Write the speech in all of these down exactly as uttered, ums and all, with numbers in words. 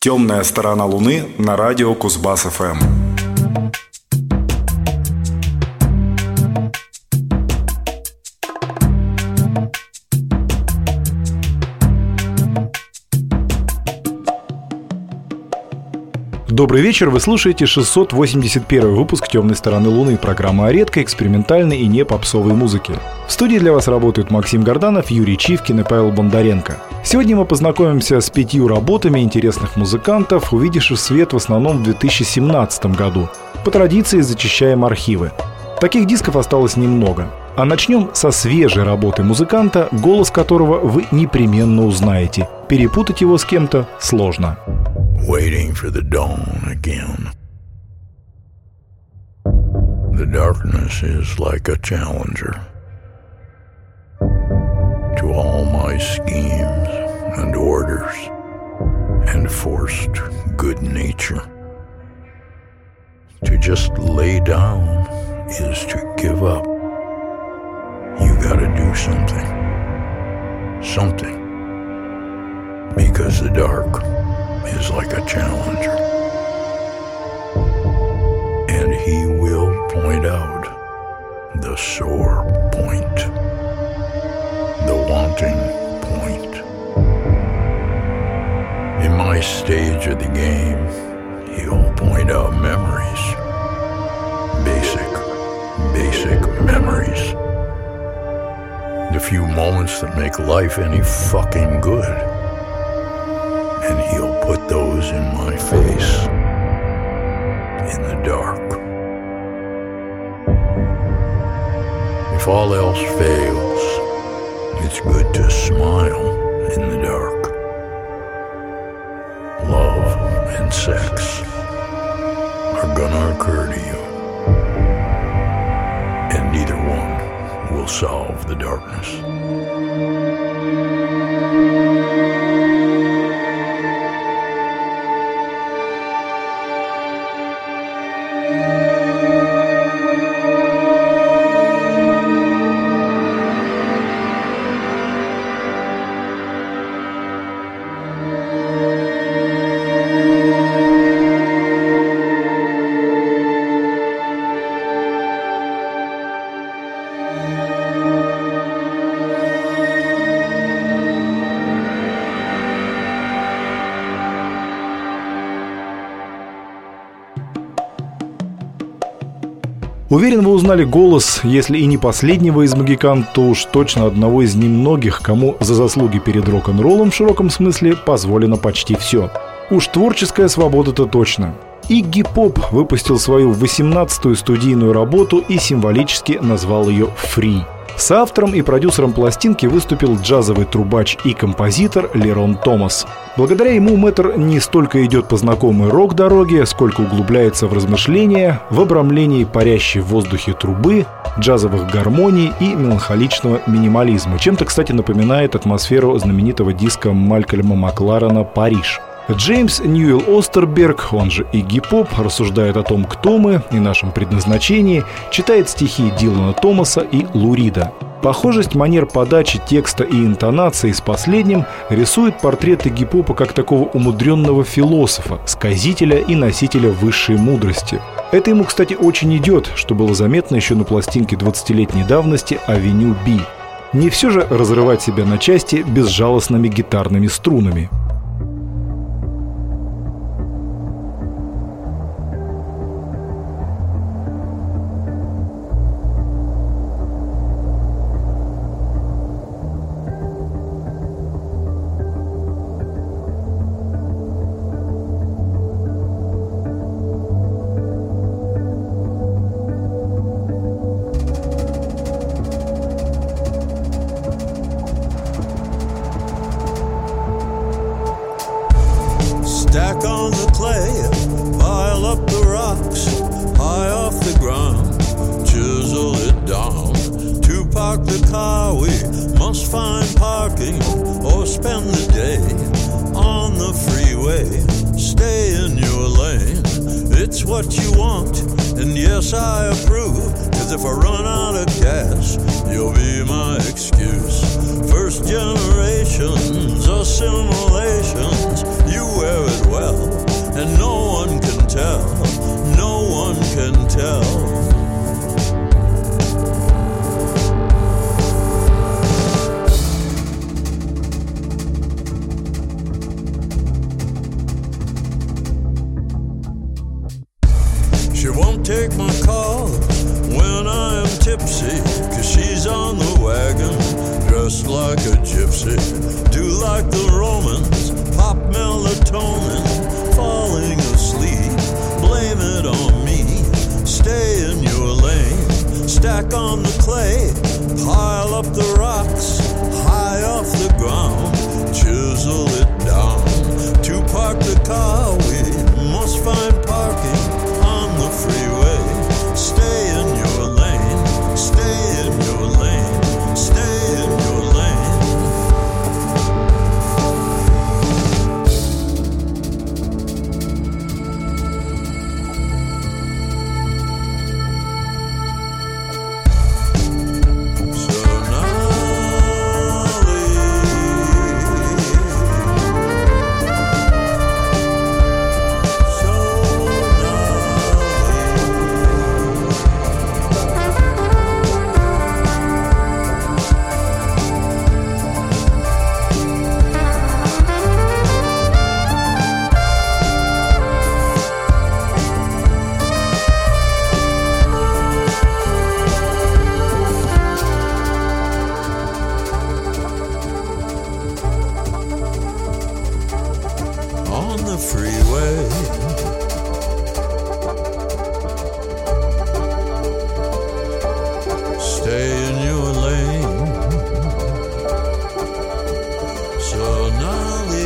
«Темная сторона Луны» на радио Кузбасс-ФМ. Добрый вечер, вы слушаете шестьсот восемьдесят первый выпуск «Темной стороны Луны», программа о редкой, экспериментальной и не попсовой музыке. В студии для вас работают Максим Горданов, Юрий Чивкин и Павел Бондаренко. Сегодня мы познакомимся с пятью работами интересных музыкантов, увидевших свет в основном в две тысячи семнадцатом году. По традиции зачищаем архивы. Таких дисков осталось немного. А начнем со свежей работы музыканта, голос которого вы непременно узнаете. Перепутать его с кем-то сложно. Waiting for the dawn again. The darkness is like a challenger to all my schemes and orders and forced good nature. To just lay down is to give up. You gotta do something. Something. Because the dark is like a challenger, and he will point out the sore point, the wanting point. In my stage of the game, he'll point out memories, basic, basic memories, the few moments that make life any fucking good. And he'll put those in my face, in the dark. If all else fails, it's good to smile in the dark. Love and sex are gonna occur to you, and neither one will solve the darkness. Уверен, вы узнали голос, если и не последнего из магикан, то уж точно одного из немногих, кому за заслуги перед рок-н-роллом в широком смысле позволено почти все. Уж творческая свобода-то точно. Игги Поп выпустил свою восемнадцатую студийную работу и символически назвал ее «Free». Соавтором и продюсером пластинки выступил джазовый трубач и композитор Лерон Томас. Благодаря ему мэтр не столько идет по знакомой рок-дороге, сколько углубляется в размышления, в обрамлении парящей в воздухе трубы, джазовых гармоний и меланхоличного минимализма. Чем-то, кстати, напоминает атмосферу знаменитого диска Малькольма Макларена «Париж». Джеймс Ньюэлл Остерберг, он же Игги Поп, рассуждает о том, кто мы и нашем предназначении, читает стихи Дилана Томаса и Лу Рида. Похожесть манер подачи текста и интонации с последним рисует портрет Игги Попа как такого умудренного философа, сказителя и носителя высшей мудрости. Это ему, кстати, очень идет, что было заметно еще на пластинке двадцатилетней давности «Авеню Би». Не все же разрывать себя на части безжалостными гитарными струнами. Stack on the clay, pile up the rocks, high off the ground, chisel it down. To park the car we must find parking or spend the day on the freeway. Stay in your lane, it's what you want, and yes I approve, cause if I run out of gas, you'll be my excuse. First generations assimilations, you wear it well. and no one can tell, no one can tell. She won't take my call when I am tipsy, 'cause she's on the wagon, dressed like a gypsy. Do like the Romans, pop melatonin, falling asleep, blame it on me. Stay in your lane, stack on the clay, pile up the rocks, high off the ground, chisel it down. To park the car, we must find parking on the freeway. Stay in your lane, stay in your lane, stay in your lane. On the freeway, stay in your lane. Sonali.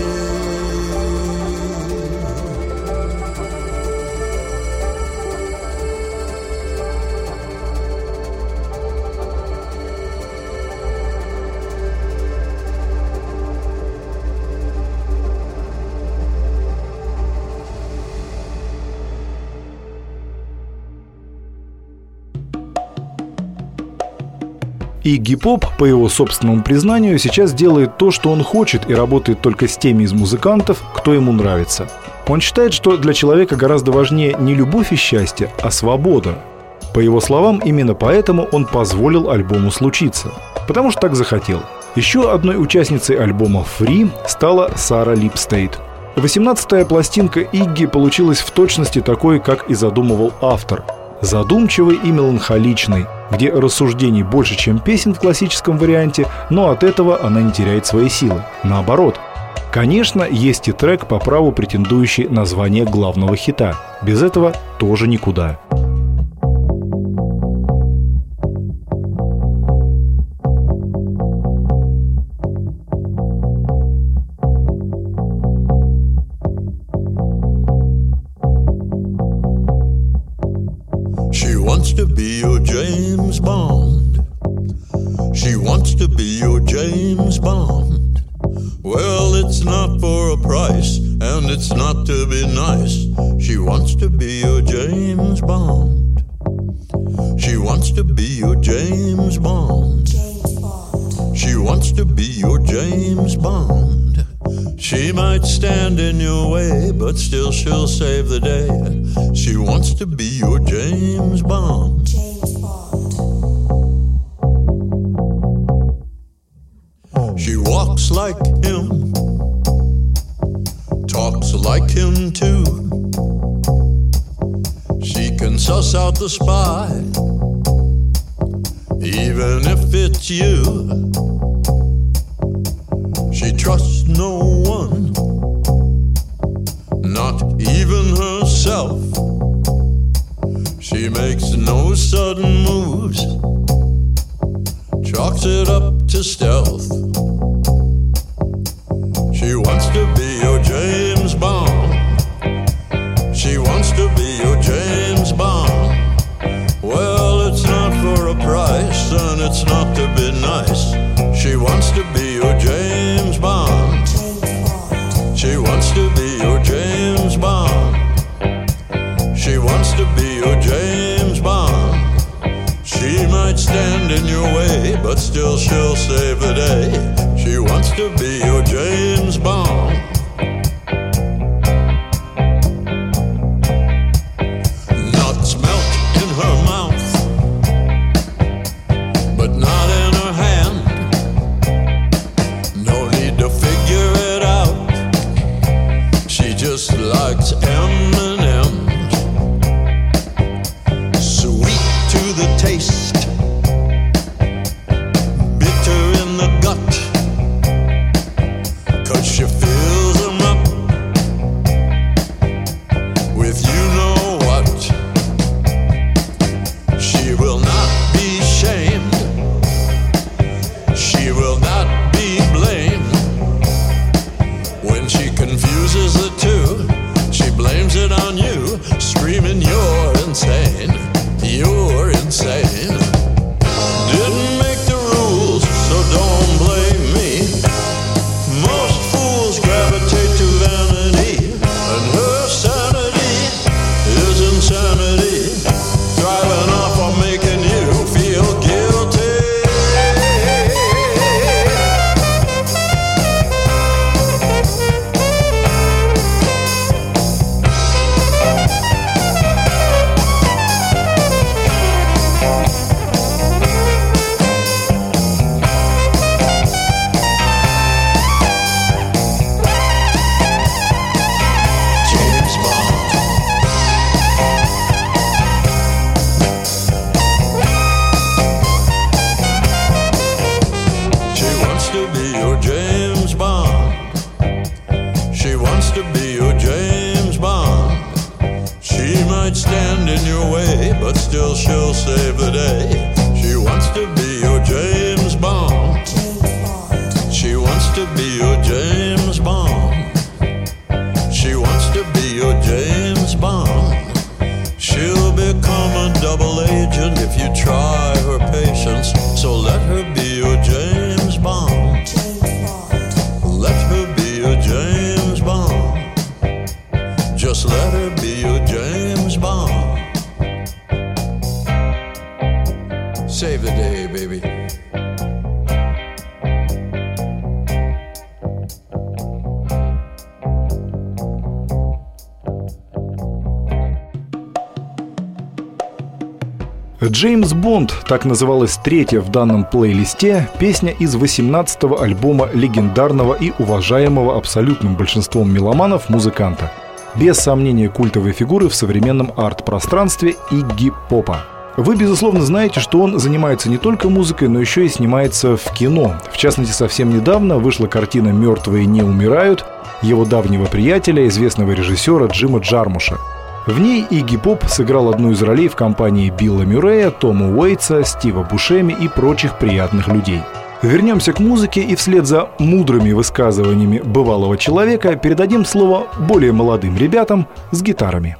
Игги Поп, по его собственному признанию, сейчас делает то, что он хочет, и работает только с теми из музыкантов, кто ему нравится. Он считает, что для человека гораздо важнее не любовь и счастье, а свобода. По его словам, именно поэтому он позволил альбому случиться. Потому что так захотел. Еще одной участницей альбома «Free» стала Сара Липстейт. восемнадцатая пластинка Игги получилась в точности такой, как и задумывал автор. Задумчивый и меланхоличный, где рассуждений больше, чем песен в классическом варианте, но от этого она не теряет свои силы. Наоборот. Конечно, есть и трек, по праву претендующий на звание главного хита. Без этого тоже никуда. She wants to be your James Bond. She wants to be your James Bond. Well, it's not for a price, and it's not to be nice. She wants to be your James Bond. She wants to be your James Bond. She wants to be your James Bond. She might stand in your way, but still she'll save the day. She wants to be your James Bond. James Bond. She walks like him, talks like him too. She can suss out the spy, even if it's you. She trusts no one, not even herself. She makes no sudden moves, chalks it up to stealth. She wants to be your James Bond. She wants to be your James Bond. Well, it's not for a price, and it's not to be nice. She wants to be your James Bond. She wants to be your James Bond. She wants to be your James Bond. She might stand in your way, but still she'll save the day. just likes M and M's, sweet to the taste, bitter in the gut, 'cause she fills them up with you know what. She will not be shamed, she will not be blamed. When she confuses the two, she blames it on you, screaming you're insane, you're insane. Didn't make the rules, so don't blame me. Most fools gravitate to vanity, and her sanity is insanity, thriving off of making you feel guilty. James Bond. She wants to be your James Bond. She wants to be your James Bond. She might stand in your way, but still she'll save the day. She wants to be your James Bond. She wants to be your James Bond. She wants to be your James Bond. She'll become a double agent if you try her patience. So let her be your James Bond. Let her be your James Bond. Just let her be your James Bond. Save the day, baby. «Джеймс Бонд» — так называлась третья в данном плейлисте песня из восемнадцатого альбома легендарного и уважаемого абсолютным большинством меломанов музыканта. Без сомнения культовой фигуры в современном арт-пространстве Игги Попа. Вы, безусловно, знаете, что он занимается не только музыкой, но еще и снимается в кино. В частности, совсем недавно вышла картина «Мертвые не умирают» его давнего приятеля, известного режиссера Джима Джармуша. В ней Игги Поп сыграл одну из ролей в компании Билла Мюррея, Тома Уэйтса, Стива Бушеми и прочих приятных людей. Вернемся к музыке и вслед за мудрыми высказываниями бывалого человека передадим слово более молодым ребятам с гитарами.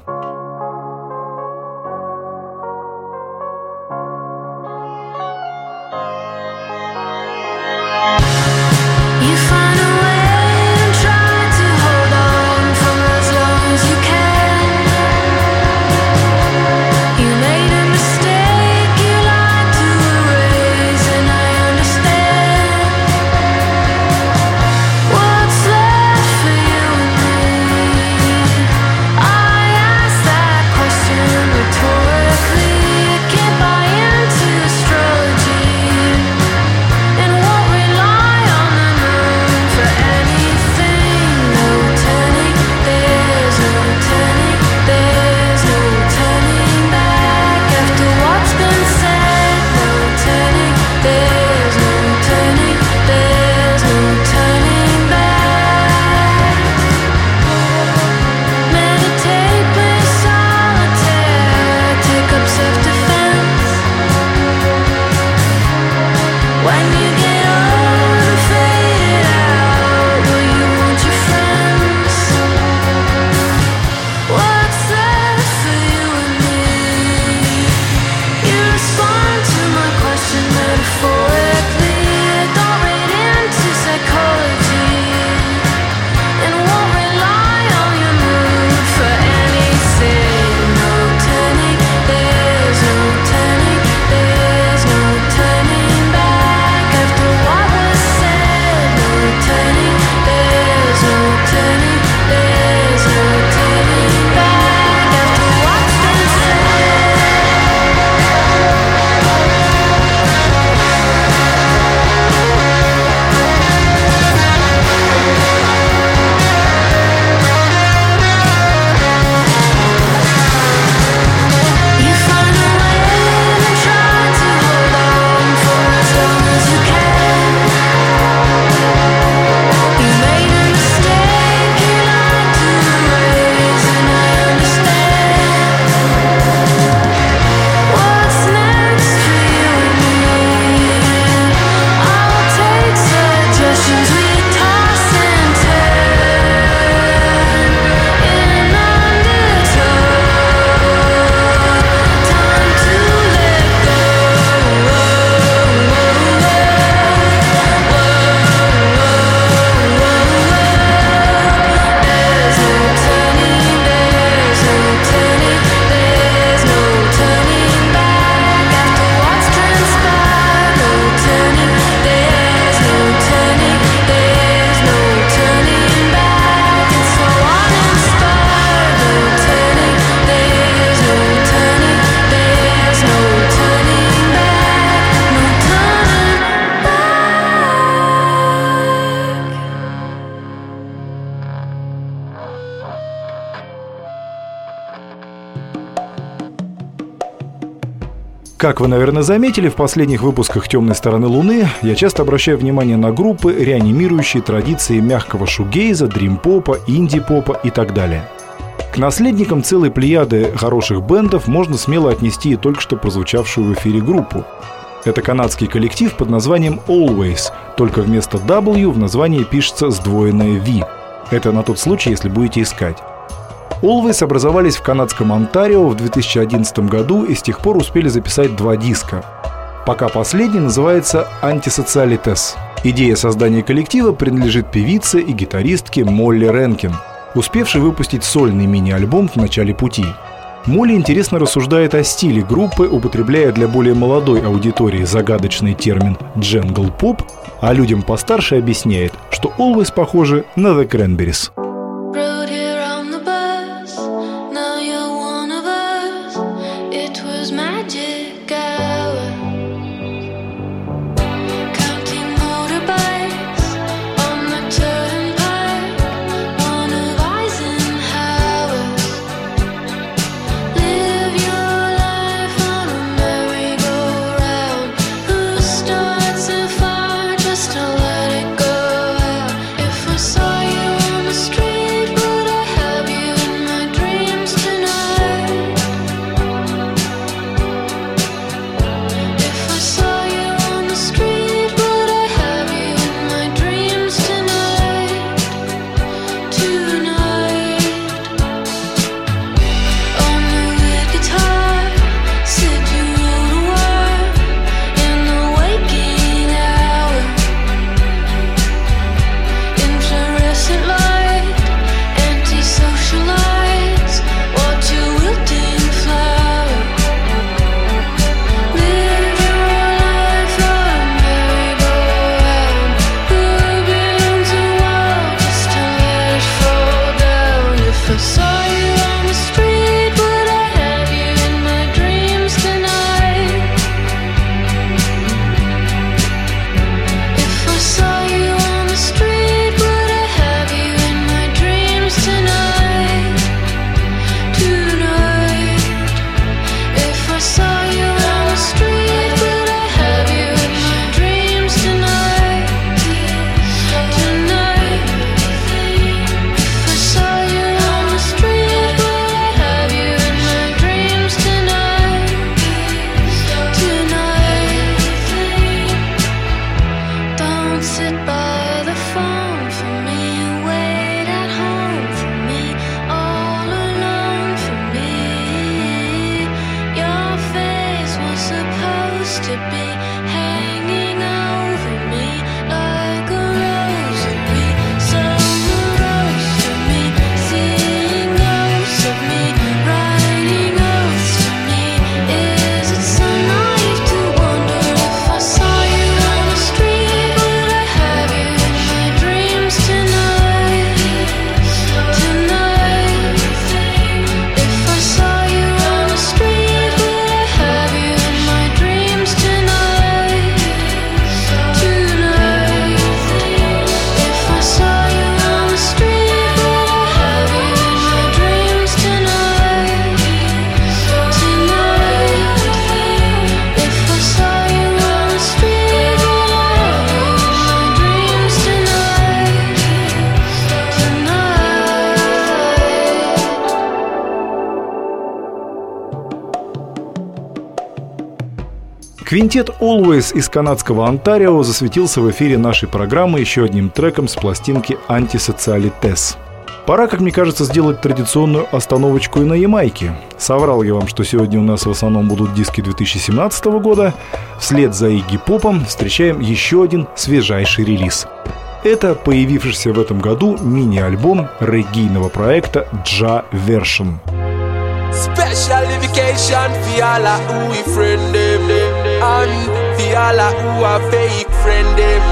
What's left for you and me? I ask Как вы, наверное, заметили, в последних выпусках «Темной стороны Луны» я часто обращаю внимание на группы, реанимирующие традиции мягкого шугейза, дрим-попа, инди-попа и так далее. К наследникам целой плеяды хороших бэндов можно смело отнести и только что прозвучавшую в эфире группу. Это канадский коллектив под названием Always, только вместо W в названии пишется сдвоенное V. Это на тот случай, если будете искать. Always образовались в канадском Онтарио в две тысячи одиннадцатом году и с тех пор успели записать два диска. Пока последний называется «Антисоциалитес». Идея создания коллектива принадлежит певице и гитаристке Молли Ренкин, успевшей выпустить сольный мини-альбом в начале пути. Молли интересно рассуждает о стиле группы, употребляя для более молодой аудитории загадочный термин «дженгл-поп», а людям постарше объясняет, что Always похожи на The Cranberries. Квинтет Always из канадского Онтарио засветился в эфире нашей программы еще одним треком с пластинки «Антисоциалитес». Пора, как мне кажется, сделать традиционную остановочку и на Ямайке. Соврал я вам, что сегодня у нас в основном будут диски две тысячи семнадцатого года. Вслед за Игги Попом встречаем еще один свежайший релиз. Это появившийся в этом году мини-альбом реггейного проекта Jah Version. Special vacation for all of who we friend them, and for all of who are fake friend them.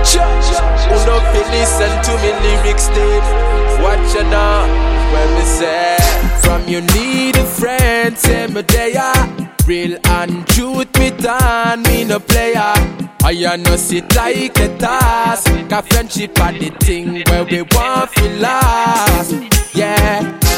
Who no feel listen to me lyrics them. Watch you now when me say, from you need a friend, say me there. Real and truth me done, me no player. I no sit like a task. Cause friendship are the thing where we want to last. Yeah.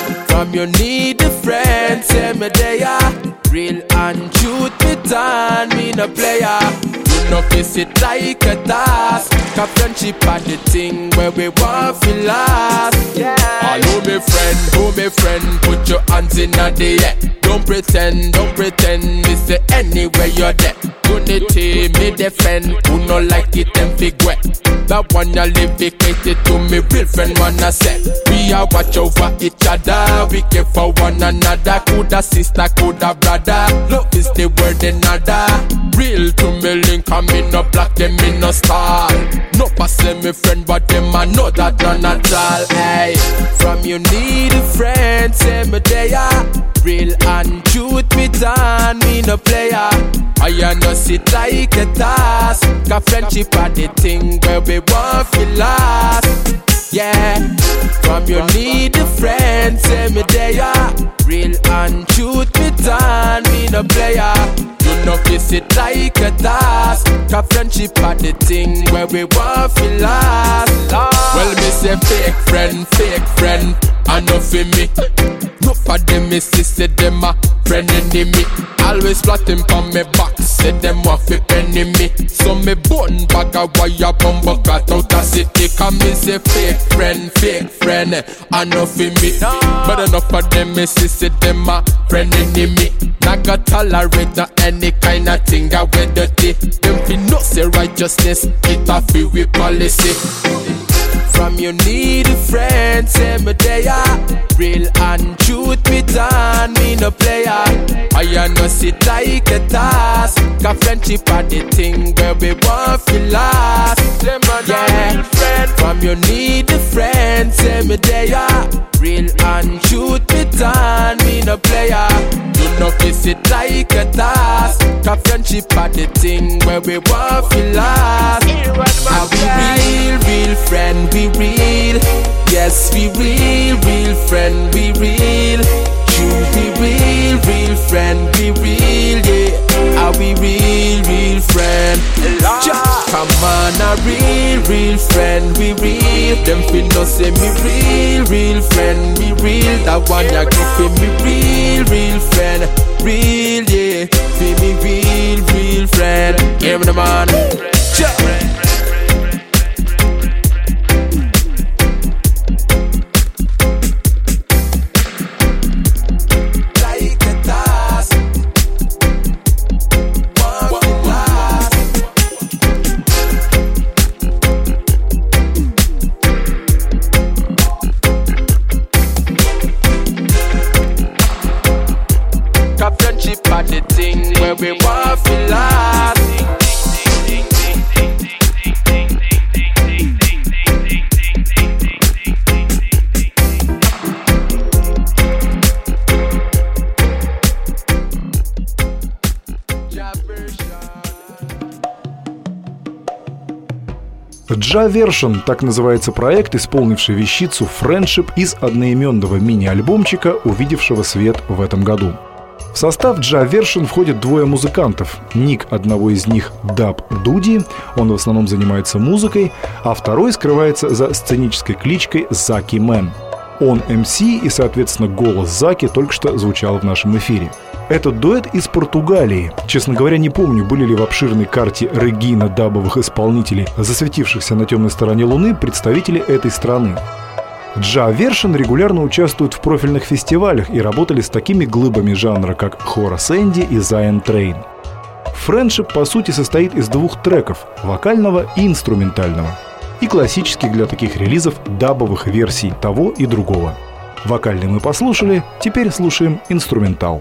From you need a friend, say me there. Real and truth, me done, me no player. You know face it like a task. Cause friendship are the thing where we want to last. Yeah. Hello me friend, oh me friend, put your hands in the air. Don't pretend, don't pretend, me say anywhere you're there. Unity, me defend, who no like it and big wet. That one you live vacated to me real friend wanna say. We are watch over each other, we care for one another. Coulda sister, coulda brother, love is the word another. Real to me link, and me no black, them me no star. No pass me friend, but them I know that none at all. Hey, from you need a friend, say me there. Real and truth, me done, me no player. I no sit like a task. Cause friendship are the thing where we want to last. Yeah, from you need a friend, say me there. Real and truth, me done, me no player. You know this it like a task. Cause friendship are the thing where we want to last. Well, me say fake friend, fake friend, I know for me. No for them, me say them a friend enemy. Always plotting on me back, say them want fi penny me. So me bone bag a wire bumbo cut out a city. Cause me say fake friend, fake friend, I know for me. But enough of them, me say them a friend enemy. Not got tolerate no any kind of thing that we dirty. Them fi no say righteousness, it a fi we policy. From you need a friend, say me there. Real and truth, me done, me no player. I no sit like a task. Cause friendship are the thing where we want to last. Yeah, from you need a friend, say me there. Real and truth, me done, me no player. You know face it like a task. Cause friendship are the thing where we want to last. Are we real, real friend, we real. Yes, we real, real friend, we real. True, we real, real friend, we real, yeah. Are we real, real friend? Just come on, a real, real friend, we real. Them fin no say me real, real friend, we real. That one ya go for me real, real friend, real, yeah. Feel me real, real friend. Give me the man. Just the thing where we want to last. Джа-вершн, так называется проект, исполнивший вещицу «Friendship» из одноименного мини-альбомчика, увидевшего свет в этом году. В состав Джа-вершн входят двое музыкантов. Ник одного из них — Даб Дуди, он в основном занимается музыкой, а второй скрывается за сценической кличкой Заки Мэн. Он эм си, и, соответственно, голос Заки только что звучал в нашем эфире. Этот дуэт из Португалии. Честно говоря, не помню, были ли в обширной карте регина дабовых исполнителей, засветившихся на темной стороне Луны, представители этой страны. Джа-вершн регулярно участвуют в профильных фестивалях и работали с такими глыбами жанра, как Хорас Энди и Zion Train. Friendship, по сути, состоит из двух треков – вокального и инструментального, и классических для таких релизов дабовых версий того и другого. Вокальный мы послушали, теперь слушаем инструментал.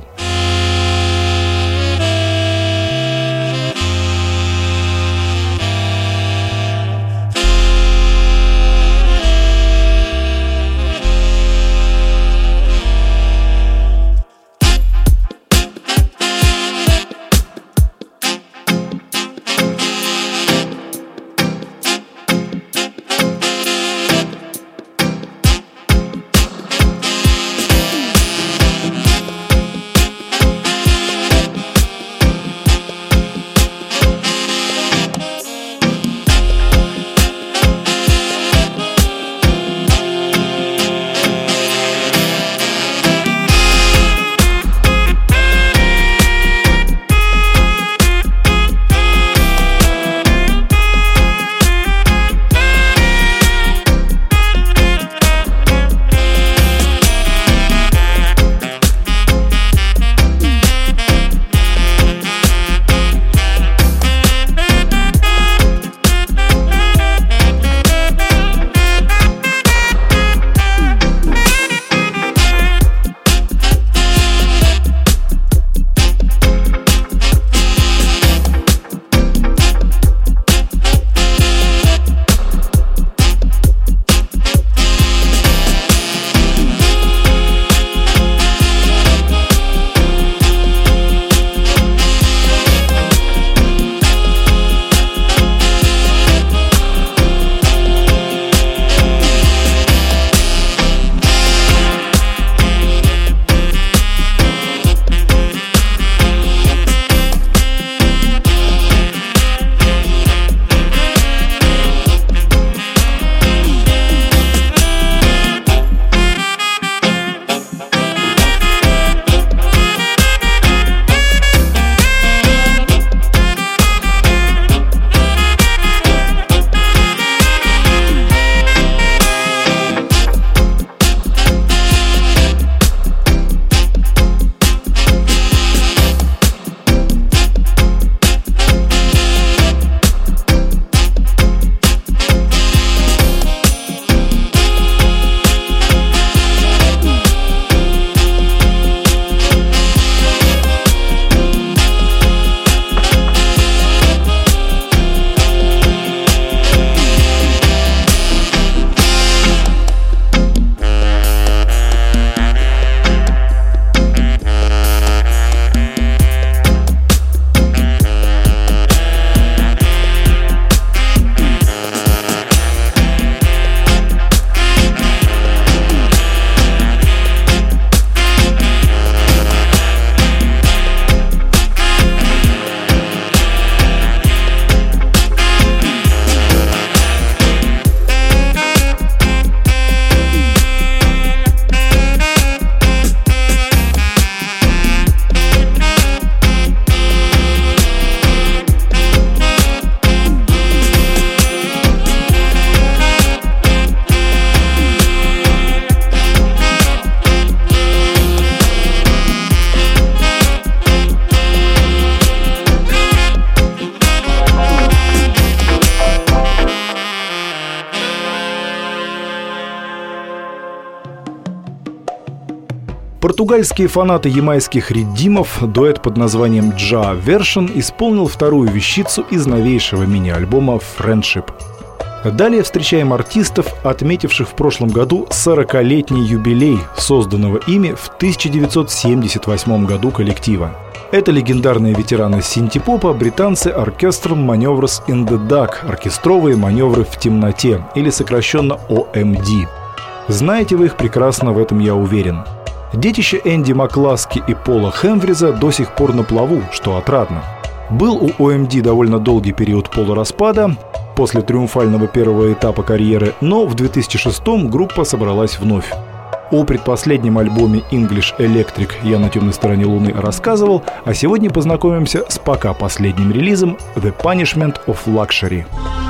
Португальские фанаты ямайских риддимов, дуэт под названием Jah Version, исполнил вторую вещицу из новейшего мини-альбома «Friendship». Далее встречаем артистов, отметивших в прошлом году сорокалетний юбилей созданного ими в тысяча девятьсот семьдесят восьмом году коллектива. Это легендарные ветераны синти-попа, британцы Orchestral Maneuvers in the Dark, оркестровые маневры в темноте, или сокращенно о эм ди. Знаете вы их прекрасно, в этом я уверен. Детище Энди Макласки и Пола Хемфриза до сих пор на плаву, что отрадно. Был у о эм ди довольно долгий период полураспада после триумфального первого этапа карьеры, но в две тысячи шестом группа собралась вновь. О предпоследнем альбоме English Electric «Я на темной стороне Луны» рассказывал, а сегодня познакомимся с пока последним релизом «The Punishment of Luxury».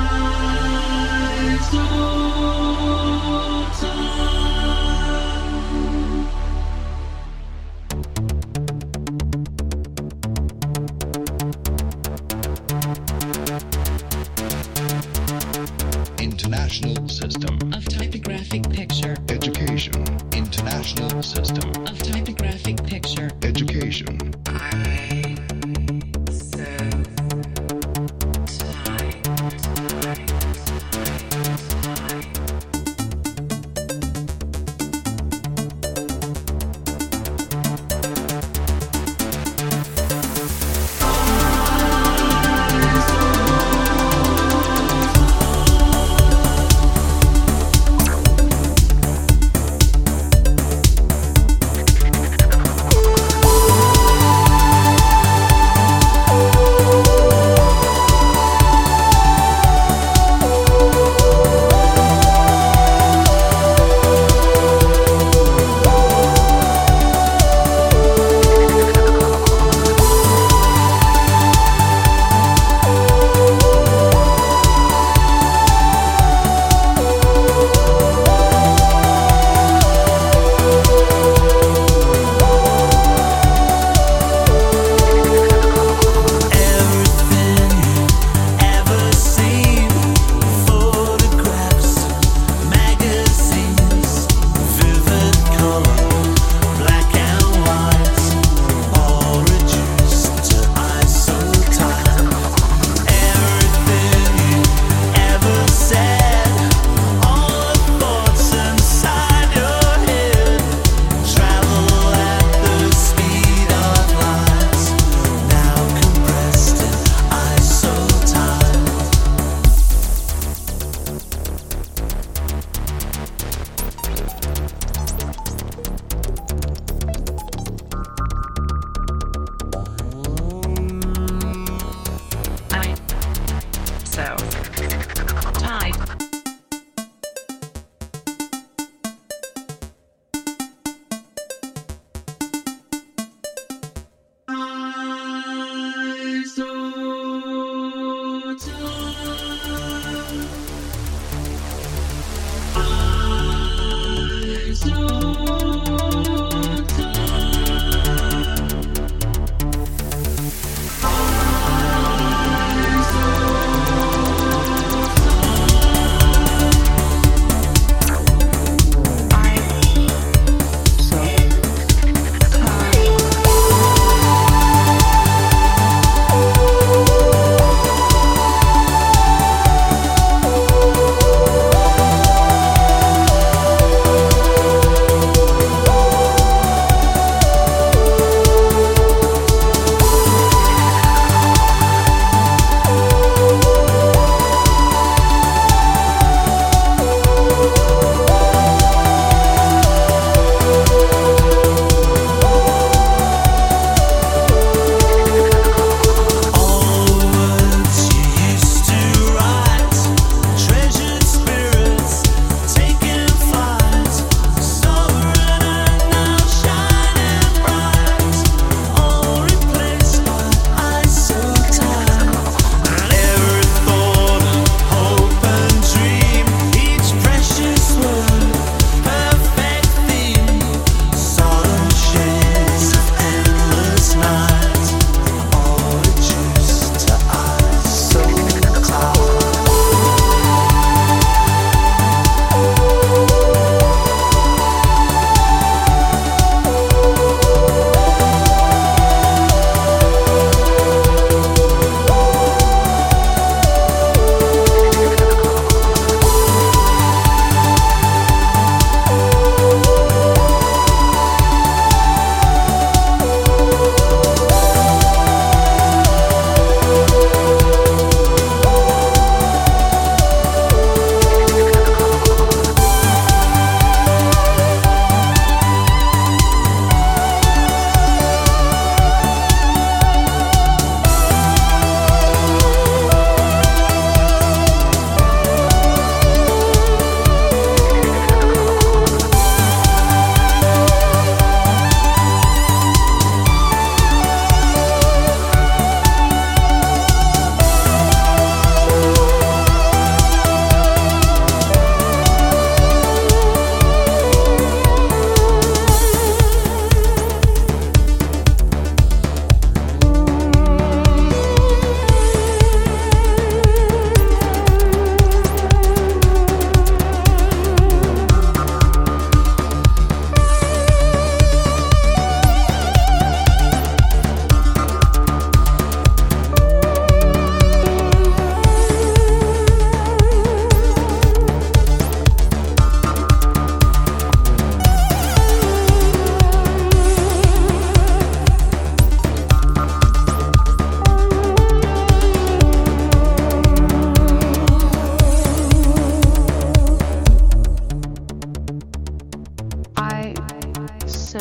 International System of Typographic Picture Education. International System of Typographic Picture Education.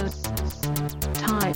house type.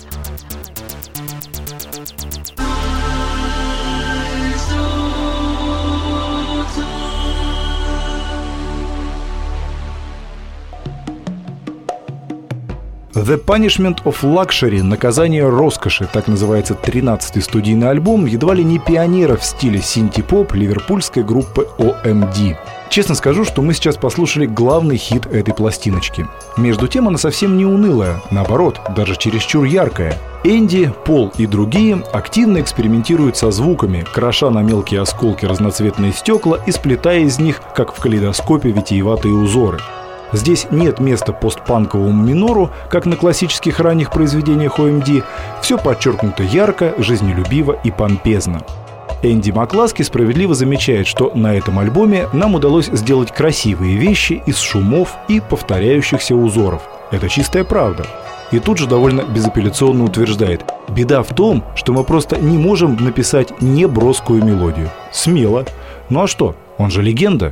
The Punishment of Luxury – «Наказание роскоши», так называется тринадцатый студийный альбом едва ли не пионера в стиле синти-поп ливерпульской группы о эм ди. Честно скажу, что мы сейчас послушали главный хит этой пластиночки. Между тем она совсем не унылая, наоборот, даже чересчур яркая. Энди, Пол и другие активно экспериментируют со звуками, кроша на мелкие осколки разноцветные стекла и сплетая из них, как в калейдоскопе, витиеватые узоры. Здесь нет места постпанковому минору, как на классических ранних произведениях о эм ди. Все подчеркнуто ярко, жизнелюбиво и помпезно. Энди Макласки справедливо замечает, что на этом альбоме нам удалось сделать красивые вещи из шумов и повторяющихся узоров. Это чистая правда. И тут же довольно безапелляционно утверждает: беда в том, что мы просто не можем написать неброскую мелодию. Смело. Ну а что? Он же легенда.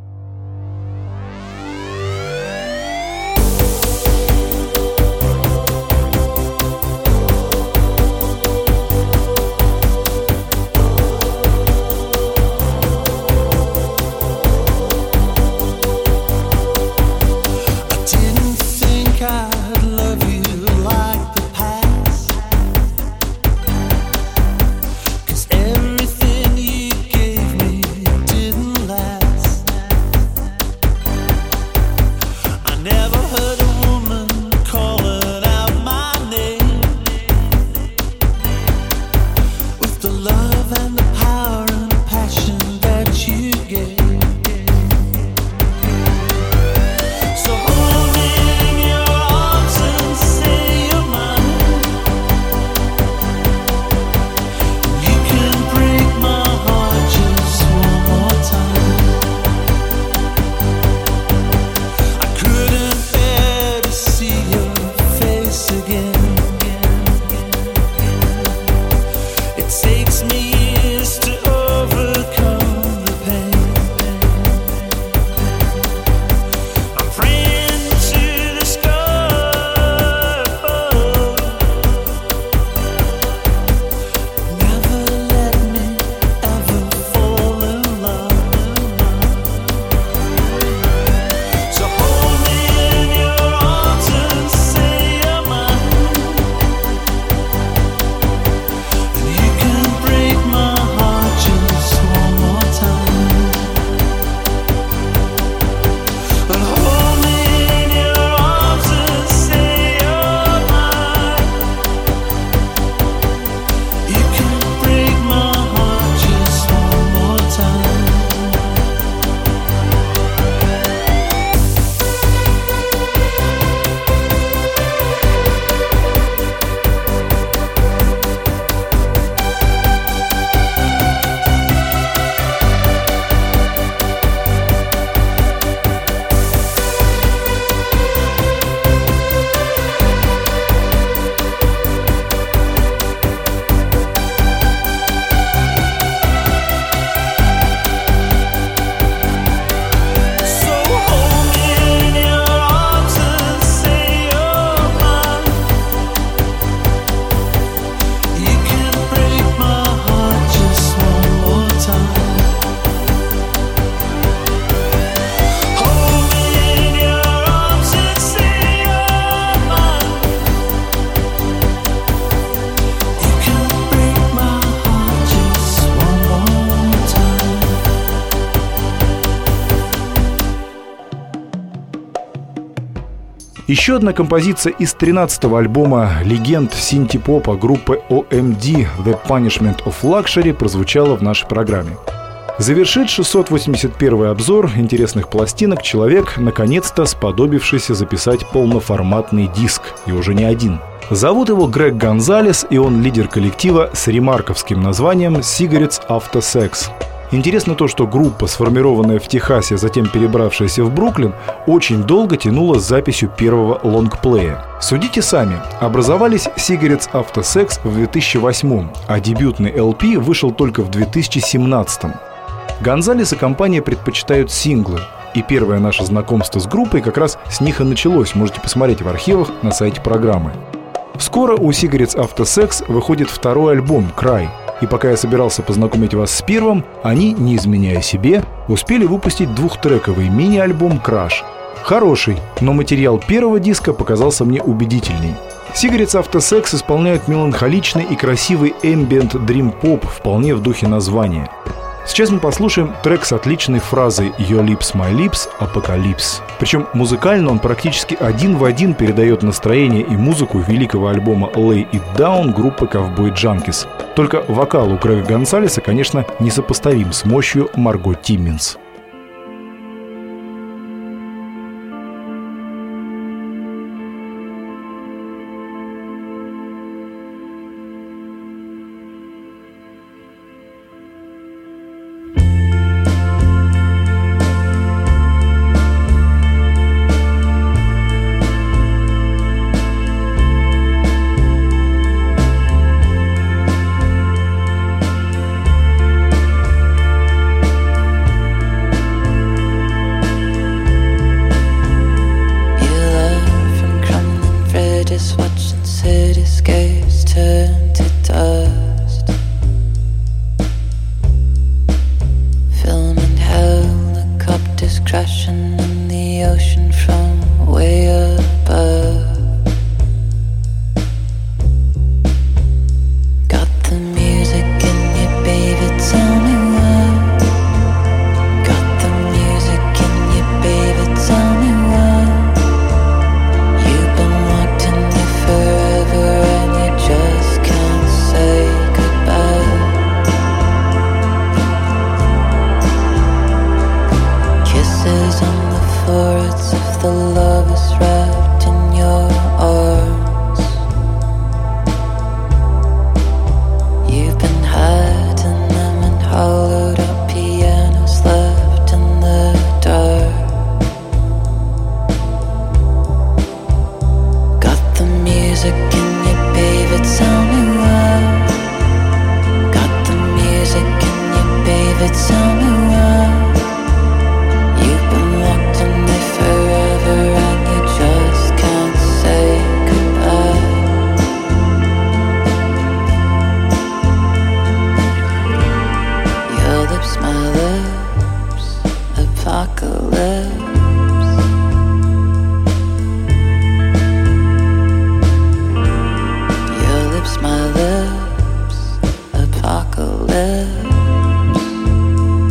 Еще одна композиция из тринадцатого альбома легенд синти-попа группы о эм ди «The Punishment of Luxury» прозвучала в нашей программе. Завершит шестьсот восемьдесят первый обзор интересных пластинок человек, наконец-то сподобившийся записать полноформатный диск, и уже не один. Зовут его Грег Гонзалес, и он лидер коллектива с ремарковским названием «Cigarettes After Sex». Интересно то, что группа, сформированная в Техасе, затем перебравшаяся в Бруклин, очень долго тянула с записью первого лонгплея. Судите сами, образовались Cigarettes After Sex в две тысячи восьмом, а дебютный эл пи вышел только в две тысячи семнадцатом. Гонзалес и компания предпочитают синглы, И первое наше знакомство с группой как раз с них и началось. Можете посмотреть в архивах на сайте программы. Скоро у Cigarettes After Sex выходит второй альбом «Cry». И пока я собирался познакомить вас с первым, они, не изменяя себе, успели выпустить двухтрековый мини-альбом «Crash». Хороший, но материал первого диска показался мне убедительней. Cigarettes After Sex исполняют меланхоличный и красивый ambient dream pop вполне в духе названия. Сейчас мы послушаем трек с отличной фразой «Your lips, my lips, apocalypse». Причем музыкально он практически один в один передает настроение и музыку великого альбома «Lay It Down» группы Cowboy Junkies. Только вокал у Грега Гонсалеса, конечно, несопоставим с мощью Марго Тимминс. My lips, apocalypse.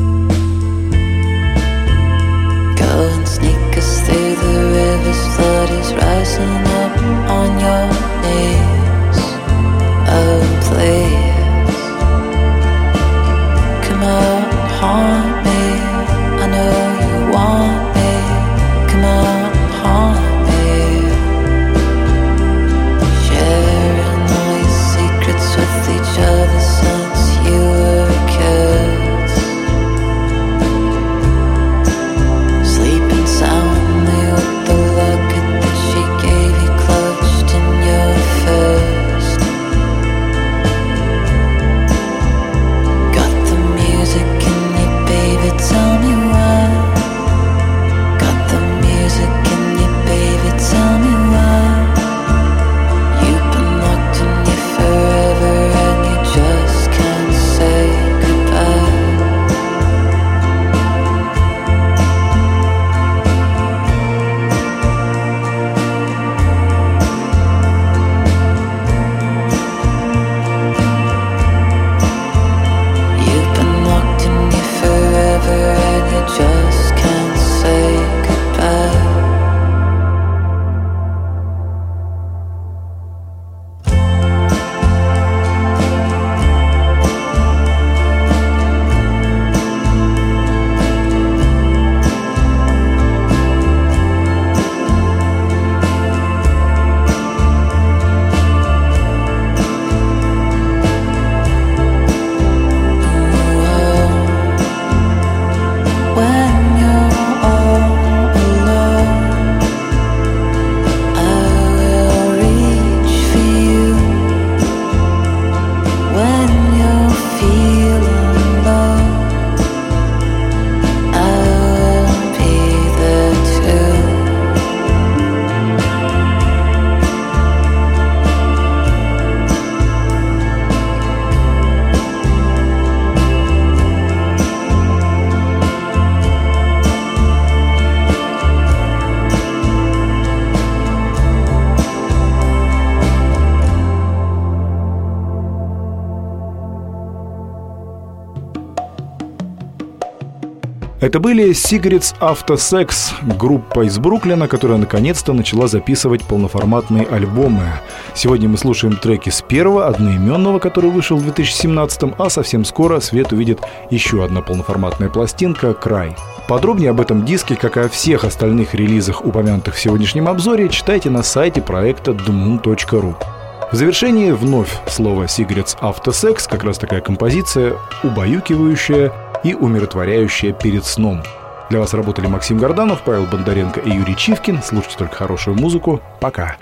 Это были Cigarettes After Sex, группа из Бруклина, которая наконец-то начала записывать полноформатные альбомы. Сегодня мы слушаем треки с первого, одноименного, который вышел в две тысячи семнадцатом, а совсем скоро свет увидит еще одна полноформатная пластинка «Край». Подробнее об этом диске, как и о всех остальных релизах, упомянутых в сегодняшнем обзоре, читайте на сайте проекта ди мун точка ру. В завершении вновь слово Cigarettes After Sex, как раз такая композиция, убаюкивающая и умиротворяющая перед сном. Для вас работали Максим Горданов, Павел Бондаренко и Юрий Чивкин. Слушайте только хорошую музыку. Пока.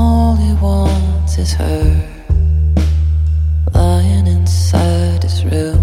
Is her lying inside his room.